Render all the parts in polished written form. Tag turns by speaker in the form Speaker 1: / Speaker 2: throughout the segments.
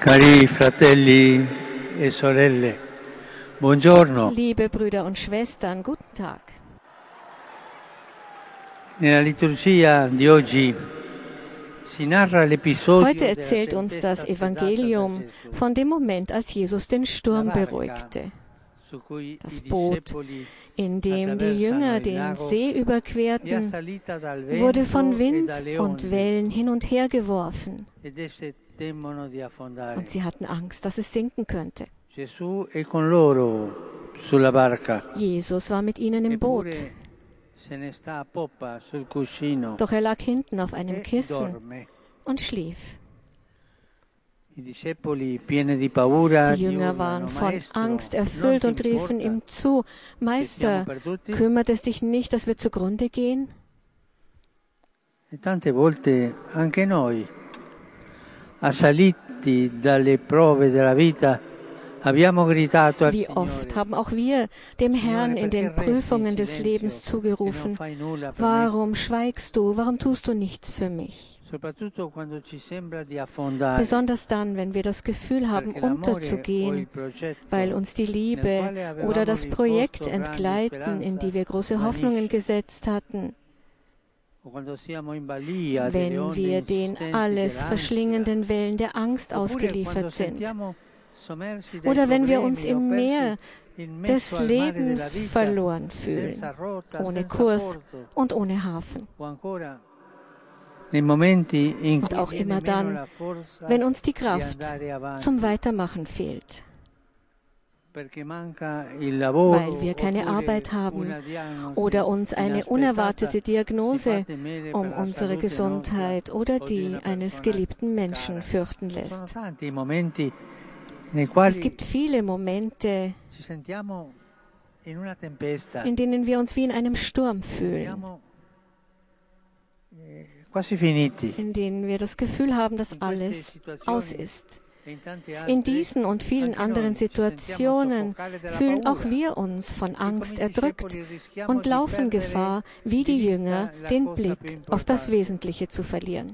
Speaker 1: Cari fratelli e sorelle, buongiorno.
Speaker 2: Liebe Brüder und Schwestern, guten Tag.
Speaker 1: Nella liturgia di oggi si narra l'episodio
Speaker 2: Heute erzählt uns das Evangelium von dem Moment, als Jesus den Sturm beruhigte. Das Boot, in dem die Jünger den See überquerten, wurde von Wind und Wellen hin und her geworfen. Und sie hatten Angst, dass es sinken könnte. Jesus war mit ihnen im Boot. Doch er lag hinten auf einem Kissen und schlief. Die Jünger waren von Angst erfüllt und riefen ihm zu: Meister, kümmert es dich nicht, dass wir zugrunde gehen?
Speaker 1: Tante volte anche noi, assaliti dalle prove della vita, abbiamo gritato al
Speaker 2: Wie oft haben auch wir dem Herrn in den Prüfungen des Lebens zugerufen: Warum schweigst du? Warum tust du nichts für mich? Besonders dann, wenn wir das Gefühl haben, unterzugehen, weil uns die Liebe oder das Projekt entgleiten, in die wir große Hoffnungen gesetzt hatten. Wenn wir den alles verschlingenden Wellen der Angst ausgeliefert sind. Oder wenn wir uns im Meer des Lebens verloren fühlen, ohne Kurs und ohne Hafen. Und auch immer dann, wenn uns die Kraft zum Weitermachen fehlt, weil wir keine Arbeit haben oder uns eine unerwartete Diagnose um unsere Gesundheit oder die eines geliebten Menschen fürchten lässt. Es gibt viele Momente, in denen wir uns wie in einem Sturm fühlen, in denen wir das Gefühl haben, dass alles aus ist. In diesen und vielen anderen Situationen fühlen auch wir uns von Angst erdrückt und laufen Gefahr, wie die Jünger, den Blick auf das Wesentliche zu verlieren.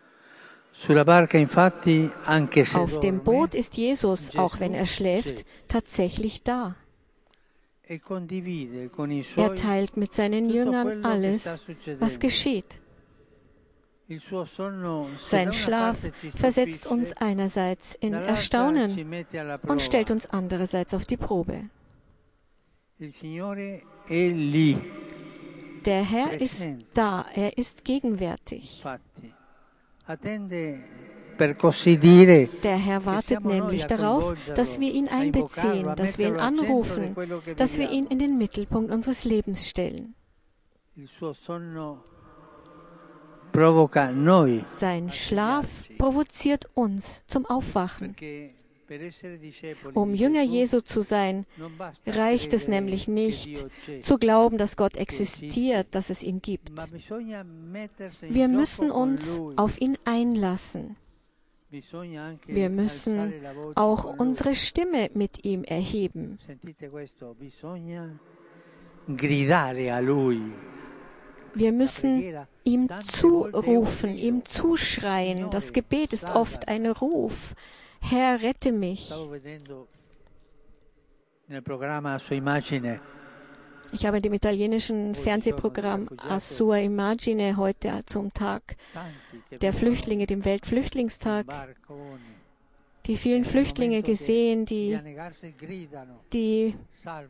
Speaker 2: Auf dem Boot ist Jesus, auch wenn er schläft, tatsächlich da. Er teilt mit seinen Jüngern alles, was geschieht. Sein Schlaf versetzt uns einerseits in Erstaunen und stellt uns andererseits auf die Probe. Der Herr ist da, er ist gegenwärtig. Der Herr wartet nämlich darauf, dass wir ihn einbeziehen, dass wir ihn anrufen, dass wir ihn in den Mittelpunkt unseres Lebens stellen. Sein Schlaf provoziert uns zum Aufwachen. Um Jünger Jesu zu sein, reicht es nämlich nicht, zu glauben, dass Gott existiert, dass es ihn gibt. Wir müssen uns auf ihn einlassen. Wir müssen auch unsere Stimme mit ihm erheben. Wir müssen ihm zurufen, ihm zuschreien. Das Gebet ist oft ein Ruf. Herr, rette mich. Ich habe in dem italienischen Fernsehprogramm A Sua Immagine heute zum Tag der Flüchtlinge, dem Weltflüchtlingstag, die vielen Flüchtlinge gesehen, die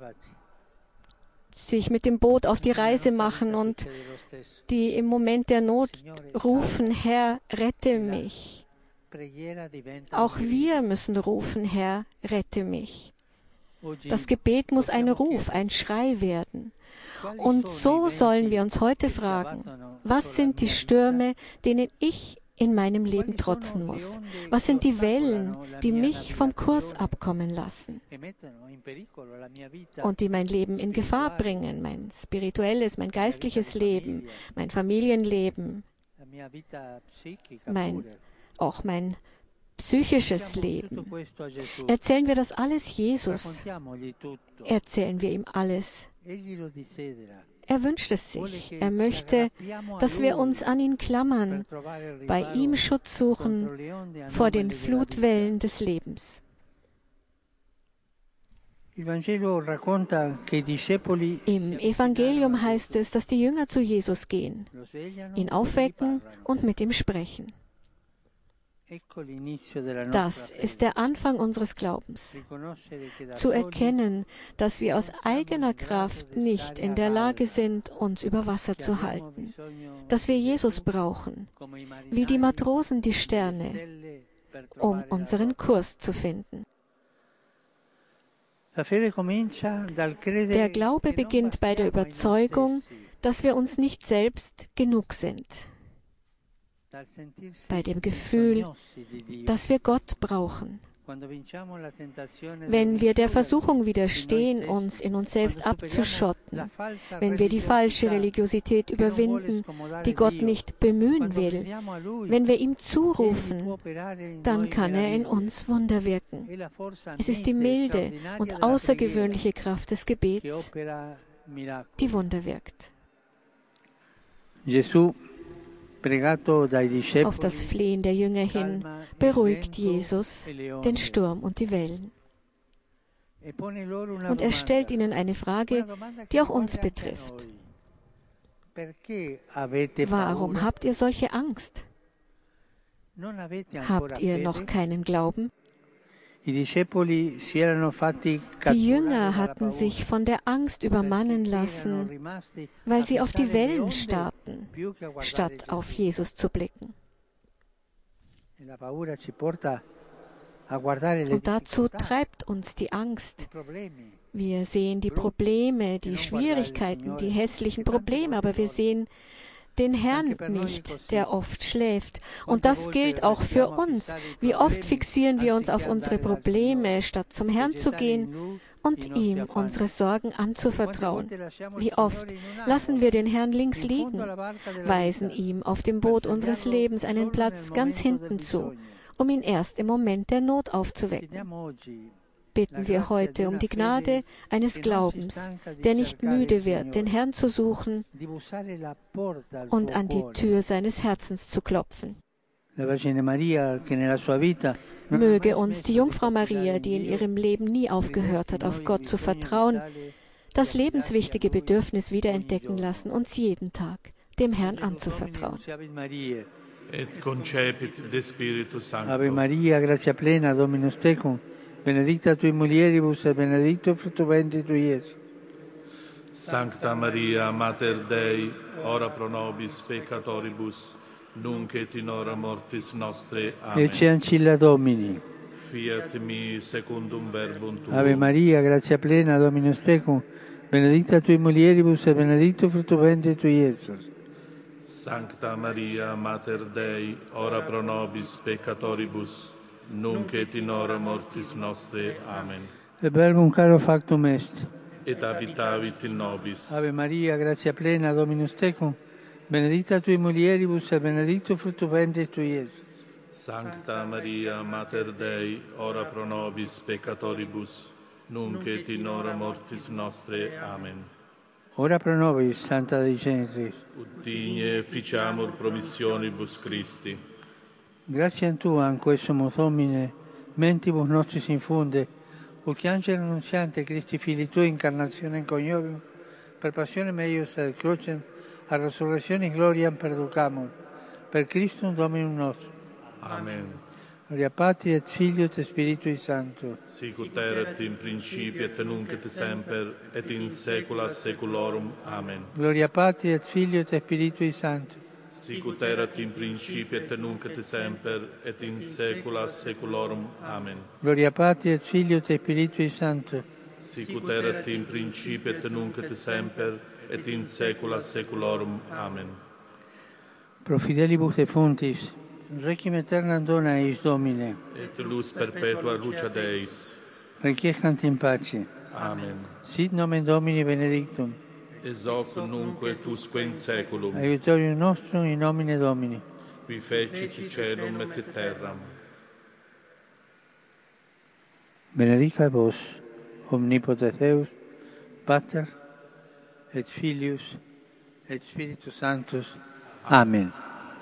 Speaker 2: sich mit dem Boot auf die Reise machen und die im Moment der Not rufen: Herr, rette mich. Auch wir müssen rufen: Herr, rette mich. Das Gebet muss ein Ruf, ein Schrei werden. Und so sollen wir uns heute fragen: Was sind die Stürme, denen ich in meinem Leben trotzen muss? Was sind die Wellen, die mich vom Kurs abkommen lassen und die mein Leben in Gefahr bringen, mein spirituelles, mein geistliches Leben, mein Familienleben, auch mein psychisches Leben? Erzählen wir das alles Jesus? Erzählen wir ihm alles? Er wünscht es sich. Er möchte, dass wir uns an ihn klammern, bei ihm Schutz suchen vor den Flutwellen des Lebens. Im Evangelium heißt es, dass die Jünger zu Jesus gehen, ihn aufwecken und mit ihm sprechen. Das ist der Anfang unseres Glaubens. Zu erkennen, dass wir aus eigener Kraft nicht in der Lage sind, uns über Wasser zu halten. Dass wir Jesus brauchen, wie die Matrosen die Sterne, um unseren Kurs zu finden. Der Glaube beginnt bei der Überzeugung, dass wir uns nicht selbst genug sind. Bei dem Gefühl, dass wir Gott brauchen. Wenn wir der Versuchung widerstehen, uns in uns selbst abzuschotten, wenn wir die falsche Religiosität überwinden, die Gott nicht bemühen will, wenn wir ihm zurufen, dann kann er in uns Wunder wirken. Es ist die milde und außergewöhnliche Kraft des Gebets, die Wunder wirkt. Auf das Flehen der Jünger hin beruhigt Jesus den Sturm und die Wellen. Und er stellt ihnen eine Frage, die auch uns betrifft. Warum habt ihr solche Angst? Habt ihr noch keinen Glauben? Die Jünger hatten sich von der Angst übermannen lassen, weil sie auf die Wellen starrten, statt auf Jesus zu blicken. Und dazu treibt uns die Angst. Wir sehen die Probleme, die Schwierigkeiten, die hässlichen Probleme, aber wir sehen den Herrn nicht, der oft schläft. Und das gilt auch für uns. Wie oft fixieren wir uns auf unsere Probleme, statt zum Herrn zu gehen und ihm unsere Sorgen anzuvertrauen. Wie oft lassen wir den Herrn links liegen, weisen ihm auf dem Boot unseres Lebens einen Platz ganz hinten zu, um ihn erst im Moment der Not aufzuwecken. Bitten wir heute um die Gnade eines Glaubens, der nicht müde wird, den Herrn zu suchen und an die Tür seines Herzens zu klopfen. Möge uns die Jungfrau Maria, die in ihrem Leben nie aufgehört hat, auf Gott zu vertrauen, das lebenswichtige Bedürfnis wiederentdecken lassen, uns jeden Tag dem Herrn anzuvertrauen.
Speaker 3: Et concepit de Spiritus Sancto.
Speaker 1: Ave Maria, gratia plena, Dominus tecum, benedicta tui mulieribus et benedictus fructus ventris tui, Iesus.
Speaker 3: Sancta Maria, Mater Dei, ora pro nobis peccatoribus, nunc et in hora mortis nostre. Amen.
Speaker 1: Ecce ancilla Domini.
Speaker 3: Fiat mi secundum verbum tuum.
Speaker 1: Ave Maria, gratia plena, Dominus tecum, benedicta tui mulieribus et benedictus fructus ventris tui, Iesus.
Speaker 3: Sancta Maria, Mater Dei, ora pro nobis peccatoribus, nunc et in hora mortis nostre. Amen.
Speaker 1: Et verbum caro factum est.
Speaker 3: Et habitavit in nobis.
Speaker 1: Ave Maria, gratia plena, Dominus tecum, benedicta tui mulieribus et benedictus fructus ventris tui, Iesus.
Speaker 3: Sancta Maria, Mater Dei, ora pro nobis peccatoribus, nunc et in hora mortis nostre. Amen.
Speaker 1: Ora pro nobis, Santa Dei Genitris.
Speaker 3: Ut digne ficiamur promissionibus Christi.
Speaker 1: Gratiam Tuam, quae sumus Domine, mentibus nostris infunde, ut angelo annunziante Christi Filii Tui incarnationem coniovium, per passionem eius ad crucem, a resurrectionis gloriam perducamur, per Christum Dominum nostrum.
Speaker 3: Amen.
Speaker 1: Gloria Patri et Filio et Spiritui Sancto.
Speaker 3: Sicut erat in principio et nunc et semper et in saecula saeculorum. Amen.
Speaker 1: Gloria Patri et Filio et Spiritui Sancto.
Speaker 3: Sicut erat in principio et nunc et semper et in saecula saeculorum. Amen.
Speaker 1: Gloria Patri et Filio et Spiritui Sancto.
Speaker 3: Sicut erat in principio et nunc et semper et in saecula saeculorum. Amen.
Speaker 1: Pro fidelibus defuntis, requiem aeternam dona eis Domine.
Speaker 3: Et lux perpetua luceat Deis.
Speaker 1: Requiescant in pace.
Speaker 3: Amen.
Speaker 1: Sit nomen Domini benedictum.
Speaker 3: Ex hoc nunc et usque in saeculum.
Speaker 1: Aiutorium nostrum in nomine Domini.
Speaker 3: Qui fecit caelum et terram.
Speaker 1: Benedicat vos, omnipotens Deus, Pater, et Filius et Spiritus Sanctus. Amen.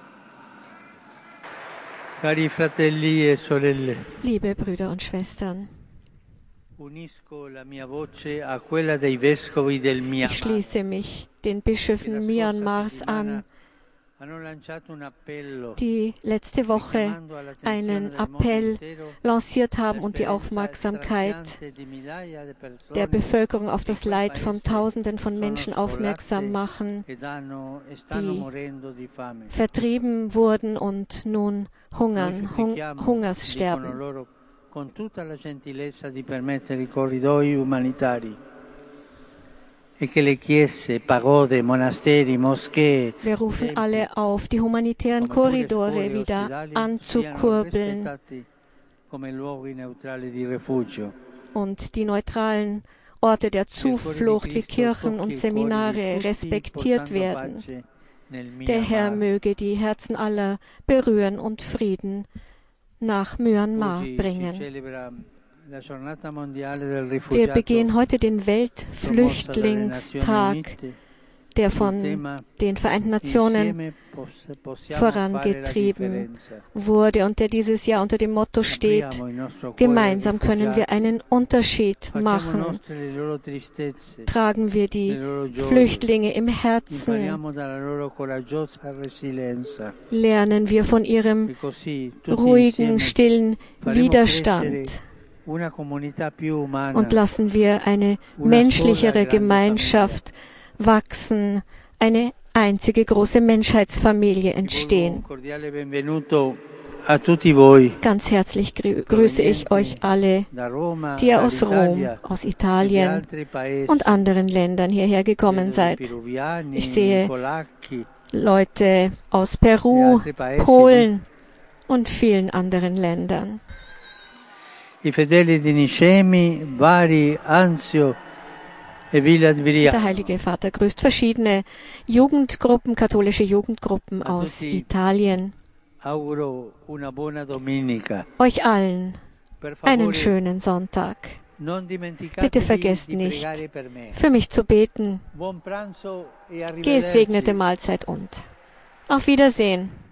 Speaker 1: Cari fratelli e sorelle,
Speaker 2: Liebe Brüder und Schwestern,
Speaker 1: unisco la mia voce a quella dei vescovi del
Speaker 2: ich
Speaker 1: Myanmar.
Speaker 2: schließe mich den Bischöfen Myanmars an,
Speaker 1: Hanno lanciato un appello
Speaker 2: die letzte Woche einen Appell lanciert haben und die Aufmerksamkeit der Bevölkerung auf das Leid von Tausenden von Menschen aufmerksam machen, die vertrieben wurden und nun Hungerssterben.
Speaker 1: Con tutta la gentilezza di permettere i corridoi umanitari e che le chiese, pagode, monasteri, moschee.
Speaker 2: Wir rufen alle auf, die humanitären Korridore wieder anzukurbeln
Speaker 1: come luoghi neutrali di rifugio.
Speaker 2: Und die neutralen Orte der Zuflucht wie Kirchen und Seminare respektiert werden. Der Herr möge die Herzen aller berühren und Frieden nach Myanmar bringen. Wir begehen heute den Weltflüchtlingstag, der von den Vereinten Nationen vorangetrieben wurde und der dieses Jahr unter dem Motto steht: Gemeinsam können wir einen Unterschied machen. Tragen wir die Flüchtlinge im Herzen. Lernen wir von ihrem ruhigen, stillen Widerstand. Und lassen wir eine menschlichere Gemeinschaft wachsen, eine einzige große Menschheitsfamilie entstehen. Ganz herzlich grüße ich euch alle, die ihr aus Rom, aus Italien und anderen Ländern hierher gekommen seid. Ich sehe Leute aus Peru, Polen und vielen anderen Ländern.
Speaker 1: I fedeli di Nicemi, Bari, Anzio e Villa di Viriato.
Speaker 2: Der Heilige Vater grüßt verschiedene Jugendgruppen, katholische Jugendgruppen aus Italien.
Speaker 1: Auguro una buona domenica.
Speaker 2: Euch allen einen schönen Sonntag. Bitte vergesst nicht, für mich zu beten. Gesegnete Mahlzeit und auf Wiedersehen.